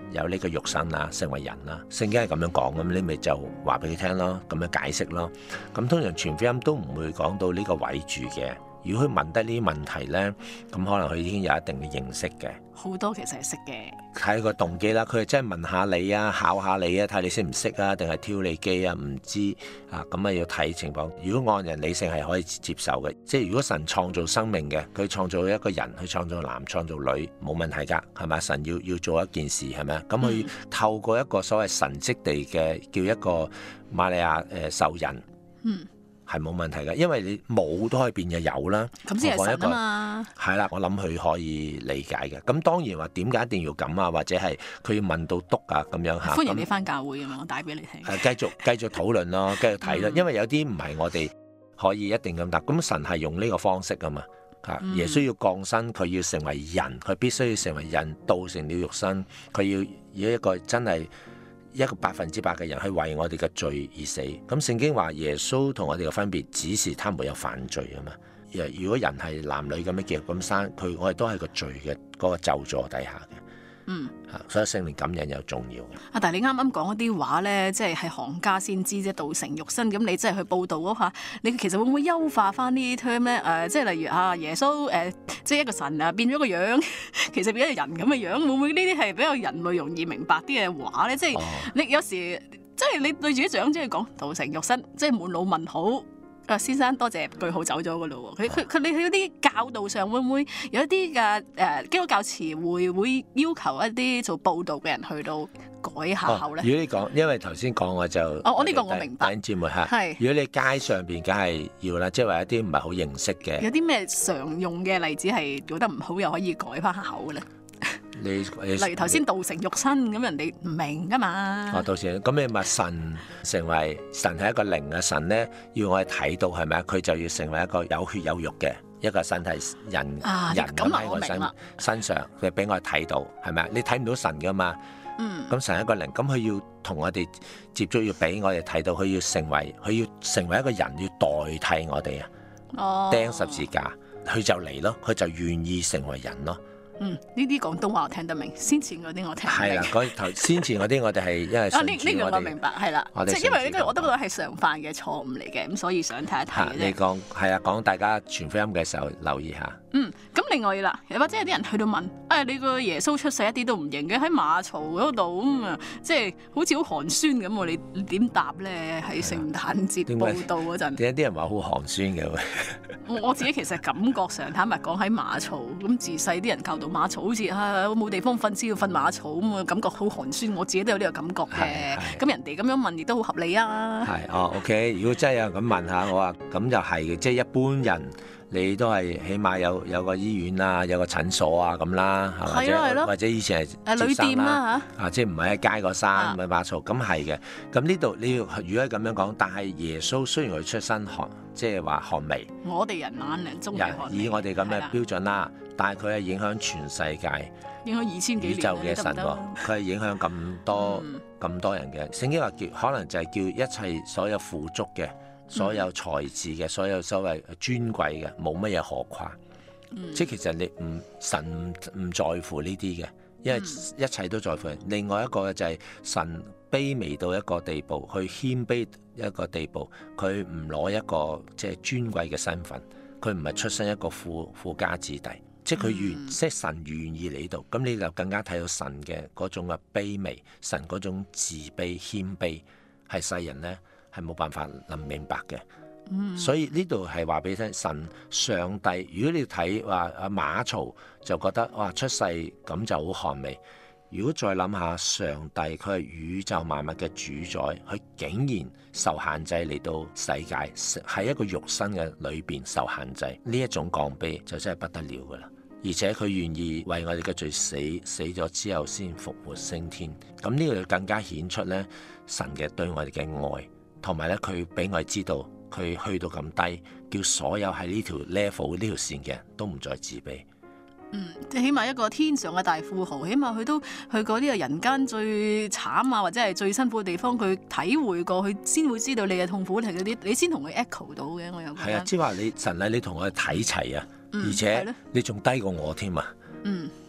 有呢個肉身啦，成為人啦。聖經係咁樣講，咁你咪就話俾佢聽咯，咁樣解釋咯。咁通常傳福音都唔會講到呢個位住嘅。如果佢問得呢啲問題呢，咁可能佢已經有一定嘅認識嘅。 好多其實係識嘅， 睇個動機啦。佢係真係問下你啊，考下你啊，睇你識唔識啊，定係挑你機啊？唔知啊，咁啊要睇情況。如果按人理性係可以接受嘅，即係如果神創造生命嘅，佢創造一個人，佢創造男創造女，冇問題㗎，係咪？神要做一件事係咪啊？咁佢透過一個所謂神蹟地嘅叫一個瑪利亞受孕。係冇問題嘅，因為你冇都可以變嘅有啦。 咁先係神啊嘛。係啦，我諗佢可以理解嘅。咁當然話點解一定要咁啊？或者係佢要問到篤啊咁樣嚇。 歡迎你翻教會咁樣，我帶俾你聽。 繼續討論咯，繼續睇咯。因為有啲唔係我哋可以一定咁答。咁神係用呢個方式啊嘛。耶穌要降生，佢要成為人，佢必須要成為人，道成了肉身，佢要一個真係。一個100%嘅人去為我哋嘅罪而死，咁聖經話耶穌同我哋嘅分別，只是他沒有犯罪啊嘛。如果人係男女咁樣結合咁生，我哋都係個罪嘅嗰個咒詛底下嘅。所以聖靈感應又重要嘅。 但係你啱啱講一啲話咧，即係行家先知啫，道成肉身。咁你即係去報導嗰下，你其實會唔會優化翻呢啲 term 咧？即係例如耶穌即係一個神變咗個樣，其實變咗人咁嘅樣，會唔會呢啲係比較人類容易明白啲嘅話咧？即係你有時即係你對住啲長者去講道成肉身，即係滿腦問號。先生多謝句號走咗噶咯喎，你喺啲教導上會唔會有一啲嘅基督教詞彙會要求一啲做報導嘅人去到改下口咧？ 如果你講，因為頭先講我就我呢個我明白。 節目係，如果你街上邊梗係要啦，即係話一啲唔係好認識嘅。有啲咩常用嘅例子係做得唔好又可以改翻下口嘅咧？例如頭先道成肉身咁，人哋唔明噶嘛。 道成咁你咪神成為神係一個靈嘅神咧，要我哋睇到係咪啊？佢就要成為一個有血有肉嘅一個身體人咁喺我身上，佢俾我哋睇到係咪啊？你睇唔到神噶嘛？咁神係一個靈，咁佢要同我哋接觸，要俾我哋睇到，佢要成為一個人，要代替我哋啊！釘十字架，佢就嚟咯，佢就願意成為人咯。 呢啲廣東話我聽得明，先前嗰啲我聽唔明。 係啦，先前嗰啲我哋係因為呢個我明白，係啦，即係因為呢個我都覺得係常犯嘅錯誤嚟嘅，咁所以想睇一睇。 你講係啊，講大家傳福音嘅時候留意下。 咁另外啦，或者有啲人去到問，你個耶穌出世一啲都唔型嘅，喺馬槽嗰度咁啊，即係好似好寒酸咁喎，你點答咧？喺聖誕節報道嗰陣， 點解啲人話好寒酸嘅？ 我自己其實感覺上坦白講喺馬槽咁，自細啲人教導馬槽好似冇地方瞓先要瞓馬槽咁啊，感覺好寒酸。我自己都有呢個感覺嘅。咁人哋咁樣問亦都好合理啊。 OK。如果真係有人咁問下我話，咁就係嘅，即係一般人。你都係起碼有個醫院啊，有個診所啊咁啦，或者以前係旅店啦嚇，即係唔係喺街個山唔係馬槽咁係嘅。咁呢度你要如果係咁樣講，但係耶穌雖然佢出身寒，即係話寒微， 我哋人眼嚟中以我哋咁嘅標準啦，但係佢係影響全世界， 影響2000幾年宇宙嘅神喎，佢係影響咁多人嘅。聖經話可能就係叫一切所有富足嘅。所有才智嘅，所有所謂尊貴嘅，冇乜嘢可誇。即係其實你神唔在乎呢啲嘅，因為一切都在乎人。另外一個就係神卑微到一個地步，去謙卑一個地步，佢唔攞一個即係尊貴嘅身份，佢唔係出身一個富家子弟，即係佢即係神願意嚟度，咁你就更加睇到神嘅嗰種嘅卑微，神嗰種自卑謙卑，係世人咧。係冇辦法諗明白嘅，所以呢度係話俾你聽，神上帝。如果你睇話馬槽就覺得哇出世咁就好寒微。如果再諗下上帝，佢係宇宙萬物嘅主宰，佢竟然受限制嚟到世界，喺一個肉身嘅裏邊受限制，呢一種降卑就真係不得了噶啦。而且佢願意為我哋嘅罪死咗之後先復活升天。咁呢個就更加顯出咧神嘅對我哋嘅愛。同埋咧，佢俾我哋知道，佢去到咁低，叫所有喺呢條 level 呢條線嘅人都唔再自卑。 即係起碼一個天上嘅大富豪，起碼佢都去過呢個人間最慘啊，或者係最辛苦嘅地方，佢體會過，佢先會知道你嘅痛苦係嗰啲，你先同佢 echo 到嘅。我有覺得係啊，即係話你神啊，你同我哋睇齊啊，而且你仲低過我添啊。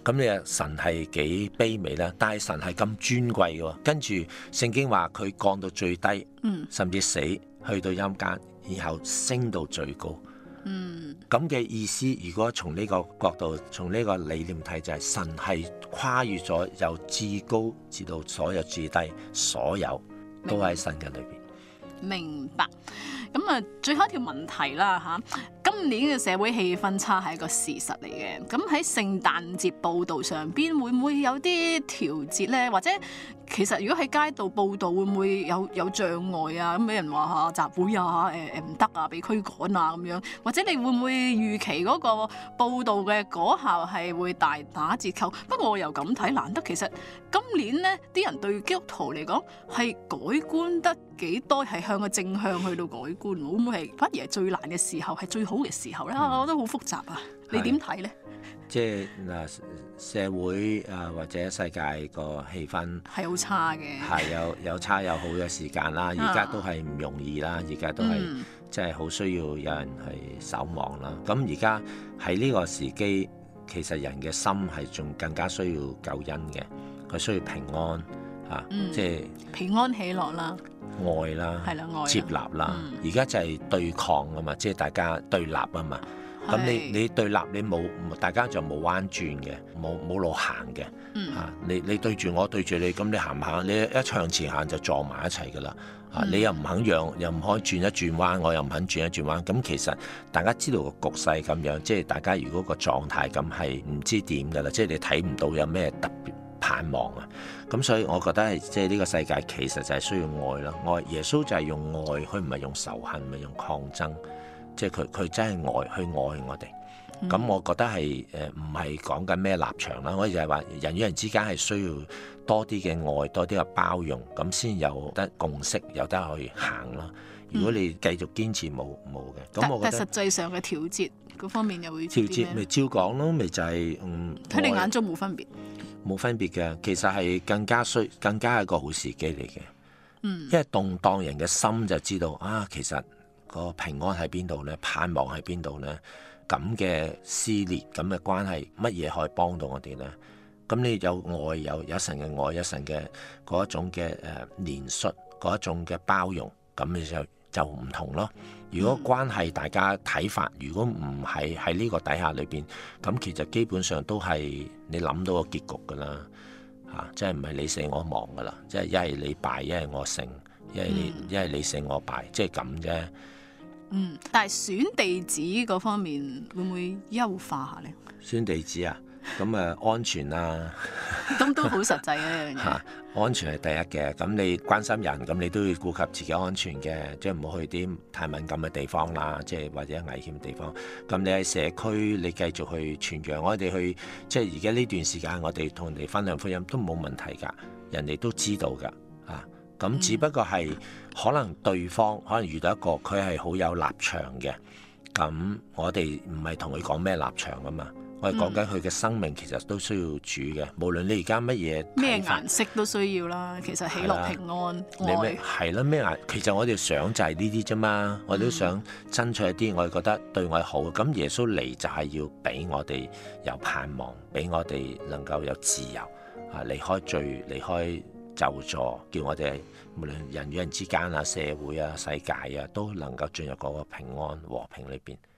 咁你話神係幾卑微啦，但係神係咁尊貴嘅喎。跟住聖經話佢降到最低，甚至死，去到陰間，然後升到最高。咁嘅意思，如果從呢個角度，從呢個理念睇，就係神係跨越咗由至高至到所有至低，所有都喺神嘅裏邊。 明白。咁啊，最後一條問題啦嚇，今年嘅社會氣氛差係一個事實嚟嘅。咁喺聖誕節報導上邊會唔會有啲調節呢？或者其實如果喺街道報導會唔會有障礙啊？咁俾人話嚇集會啊，唔得啊，被驅趕啊咁樣。或者你會唔會預期嗰個報導嘅果效係會大打折扣？不過我又咁睇，難得其實今年呢啲人對基督徒嚟講係改觀得幾多，係向個正向去到改觀，會唔會係反而係最難嘅時候，係最好嘅時候咧？我覺得好複雜啊！你點睇咧？ 即係嗱，社會啊或者世界個氣氛係好差嘅， 係有差有好嘅時間啦。而家都係唔容易啦，而家都係即係好需要有人去守望啦。咁而家喺呢個時機，其實人嘅心係仲更加需要救恩嘅，佢需要平安嚇，即係平安喜樂啦。 愛啦，接納啦，而家就係對抗啊嘛，即係大家對立啊嘛。咁你對立，你冇大家就冇彎轉嘅，冇路行嘅。你對住我對住你，咁你行唔行？你一向前行就撞埋一齊噶啦。你又唔肯讓，又唔可以轉一轉彎，我又唔肯轉一轉彎。咁其實大家知道個局勢咁樣，即係大家如果個狀態咁係唔知點噶啦，即係你睇唔到有咩特別盼望啊。咁所以我覺得係即係呢個世界其實就係需要愛啦。愛耶穌就係用愛，佢唔係用仇恨，唔係用抗爭，即係佢真係愛去愛我哋。咁我覺得係唔係講緊咩立場啦？我就係話人與人之間係需要多啲嘅愛，多啲嘅包容，咁先有得共識，有得去行啦。如果你繼續堅持冇嘅，咁我覺得但實際上嘅調節嗰方面又會調節咪照講咯，咪就係喺你眼中冇分別。 冇分別嘅，其實係更加係一個好時機嚟嘅。因為動盪人嘅心就知道啊，其實個平安喺邊度呢？盼望喺邊度呢？咁嘅撕裂，咁嘅關係，乜嘢可以幫到我哋呢？咁你有愛，有神嘅愛，有神嘅嗰一種嘅憐恤，嗰一種嘅包容，咁你就唔同咯。如果關係大家睇法，如果唔係喺呢個底下裏邊，咁其實基本上都係你諗到個結局噶啦，即係唔係你勝我亡噶啦，即係一係你敗，一係我勝，一係你勝我敗，即係咁啫。 但係選地址嗰方面會唔會優化下呢？ 選地址啊，咁安全啊， 咁都好實際嘅一樣嘢。 安全係第一嘅，咁你關心人，咁你都要顧及自己安全嘅，即係唔好去啲太敏感嘅地方啦，即係或者危險嘅地方。咁你喺社區，你繼續去傳揚，我哋去即係而家呢段時間，我哋同人哋分享福音都冇問題㗎，人哋都知道㗎，咁只不過係可能對方可能遇到一個佢係好有立場嘅，咁我哋唔係同佢講咩立場㗎嘛。我哋講緊佢嘅生命，其實都需要主嘅。無論你而家乜嘢咩顏色都需要啦。其實喜樂平安愛係啦，咩顏？其實我哋想就係呢啲啫嘛。我哋都想爭取一啲，我哋覺得對我好。咁耶穌嚟就係要俾我哋有盼望，俾我哋能夠有自由離開罪，離開咒詛，叫我哋無論人與人之間啊、社會啊、世界啊，都能夠進入嗰個平安和平裏邊。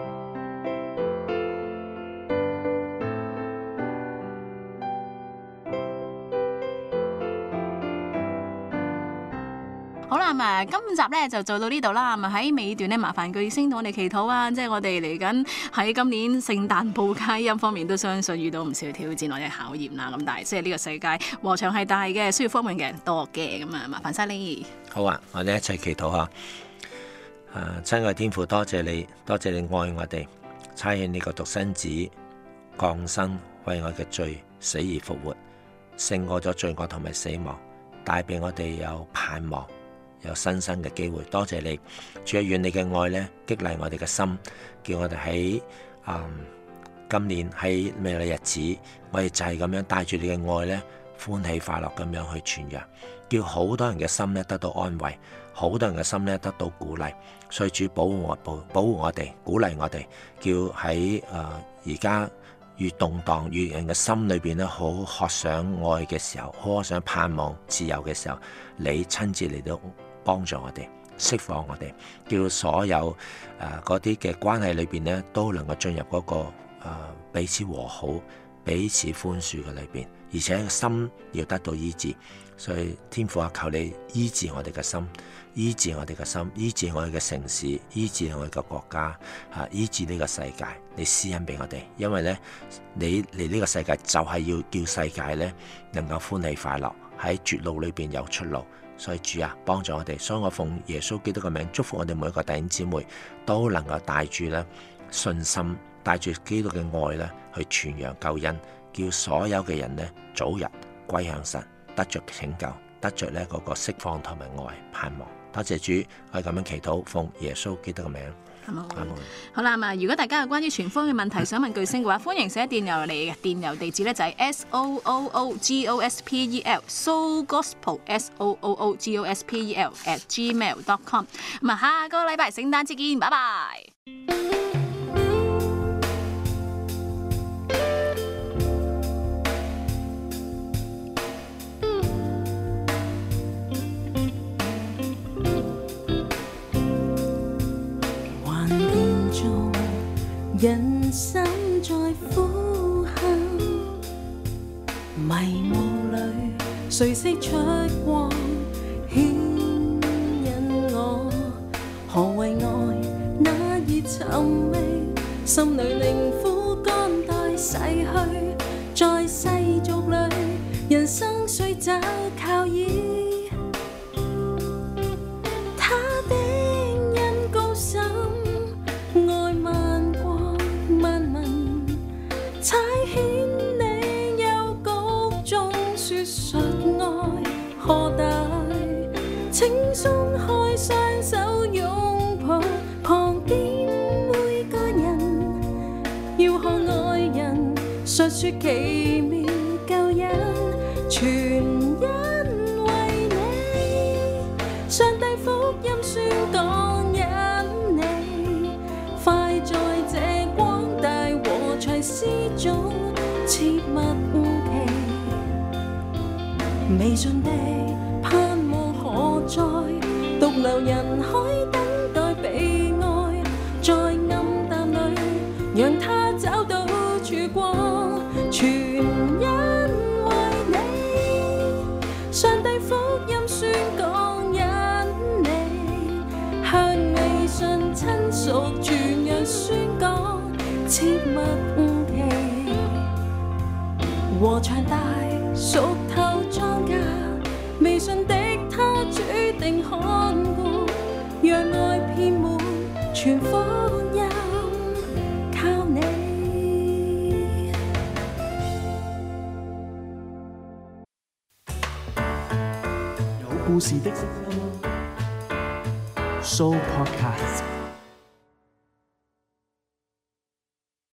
好啦，今集咧就做到呢度啦。喺尾段咧，麻煩巨星同我哋祈禱啊！即係我哋嚟緊喺今年聖誕報佳音方面，都相信遇到唔少挑戰或者考驗啦。咁但係即係呢個世界禾場係大嘅，需要方面嘅人多嘅。咁麻煩晒你。 好啊，我哋一齊祈禱下。親愛天父，多謝你，多謝你愛我哋，差遣你個獨生子降生，為我嘅罪死而復活，勝過咗罪惡同埋死亡，帶俾我哋有盼望。有新生嘅機會，多謝你，主啊，願你嘅愛咧激勵我哋嘅心，叫我哋喺今年喺未來日子，我哋就係咁樣帶住你嘅愛咧，歡喜快樂咁樣去傳揚，叫好多人嘅心咧得到安慰，好多人嘅心咧得到鼓勵。所以主保護我哋，鼓勵我哋，叫喺而家越動盪，越人嘅心裏邊咧好渴想愛嘅時候，好渴想盼望自由嘅時候，你親自嚟到幫助我哋，釋放我哋，叫所有嗰啲嘅關係裏邊咧都能夠進入嗰個彼此和好、彼此寬恕嘅裏邊，而且個心要得到醫治。所以天父啊，求你醫治我哋嘅心，醫治我哋嘅心，醫治我哋嘅城市，醫治我哋嘅國家，醫治呢個世界。你施恩俾我哋，因為咧你嚟呢個世界就係要叫世界咧能夠歡喜快樂，喺絕路裏邊有出路。所以主啊，幫助我哋。所以我奉耶穌基督嘅名祝福我哋每一個弟兄姊妹都能夠帶住咧信心，帶住基督嘅愛咧去傳揚救恩，叫所有嘅人咧早日歸向神，得着拯救，得着呢嗰個釋放同埋愛盼望。多謝主，我係咁樣祈禱，奉耶穌基督嘅名。 好啦，如果大家有關於傳福音嘅問題想問巨星嘅話，歡迎寫電郵嚟嘅，電郵地址咧就係 sooogospel@gmail.com。下個禮拜聖誕節見，拜拜。 人生在呼喊，迷霧裏誰識出光，牽引我何為愛那熱尋覓，心裏令苦肝代逝去，在世俗裏人生需找靠倚，他的恩高深愛萬國萬民，差遣你幽谷中説述愛何大，請鬆開雙手擁抱旁邊每個人，要向愛人述説奇妙救恩，全因為你，上帝福音宣講因你，快在這光大和齊施種切勿期，未盡的盼望何在，獨留人海等待被愛，在暗淡裏讓他找到曙光，全因為你，上帝福音宣講因你，向未信親屬傳揚宣講，切勿期，禾場大熟透莊稼，未信的他主定看顧，讓愛遍滿全福音，靠你。 有故事的 Show Podcast。